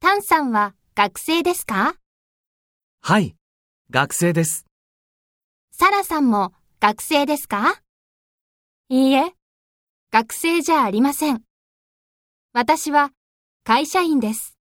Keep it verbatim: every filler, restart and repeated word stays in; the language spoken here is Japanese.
タンさんは学生ですか？ はい、学生です。 サラさんも学生ですか？いいえ、学生じゃありません。私は会社員です。